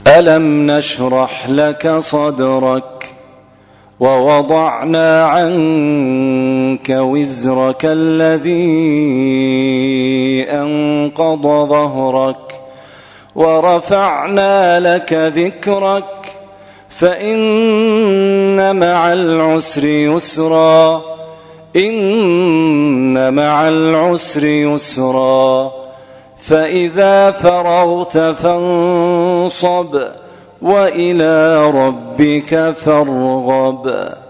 ألم نشرح لك صدرك ووضعنا عنك وزرك الذي أنقض ظهرك ورفعنا لك ذكرك فإن مع العسر يسرا إن مع العسر يسرا فإذا فرغت فانصب وإلى ربك فارغب.